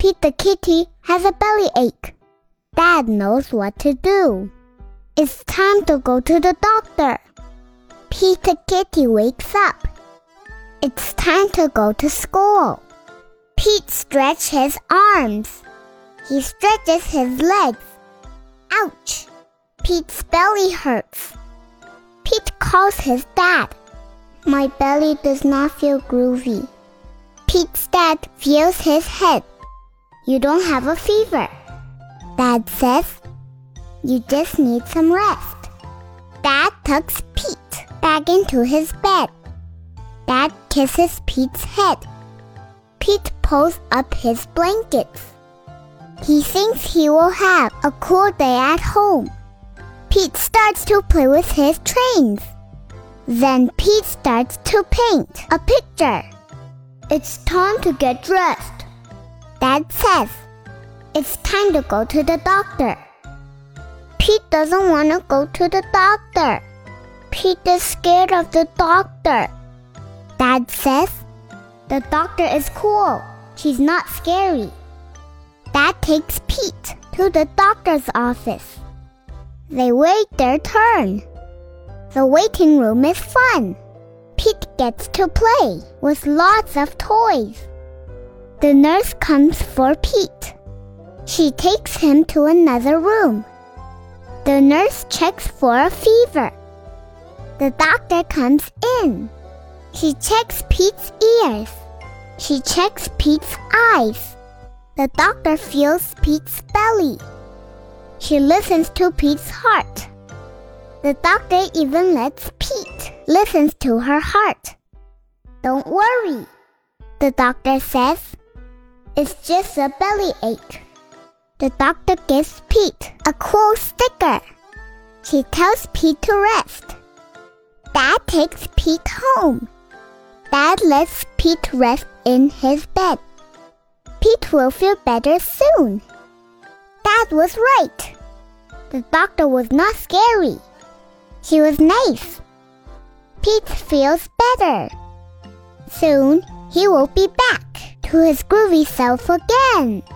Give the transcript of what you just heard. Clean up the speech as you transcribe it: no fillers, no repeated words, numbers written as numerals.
Pete the kitty has a bellyache. Dad knows what to do. It's time to go to the doctor. Pete the kitty wakes up. It's time to go to school. Pete stretches his arms. He stretches his legs. Ouch! Pete's belly hurts. Pete calls his dad. My belly does not feel groovy. Pete's dad feels his head. You don't have a fever. Dad says, you just need some rest. Dad tucks Pete back into his bed. Dad kisses Pete's head. Pete pulls up his blankets. He thinks he will have a cool day at home. Pete starts to play with his trains. Then Pete starts to paint a picture. It's time to get dressed. Dad says, it's time to go to the doctor. Pete doesn't want to go to the doctor. Pete is scared of the doctor. Dad says, the doctor is cool. She's not scary. Dad takes Pete to the doctor's office. They wait their turn. The waiting room is fun. Pete gets to play with lots of toys. The nurse comes for Pete. She takes him to another room. The nurse checks for a fever. The doctor comes in. She checks Pete's ears. She checks Pete's eyes. The doctor feels Pete's belly. She listens to Pete's heart. The doctor even lets Pete listen to her heart. Don't worry, the doctor says. It's just a bellyache. The doctor gives Pete a cool sticker. She tells Pete to rest. Dad takes Pete home. Dad lets Pete rest in his bed. Pete will feel better soon. Dad was right. The doctor was not scary. She was nice. Pete feels better. Soon, he will be back to his groovy self again.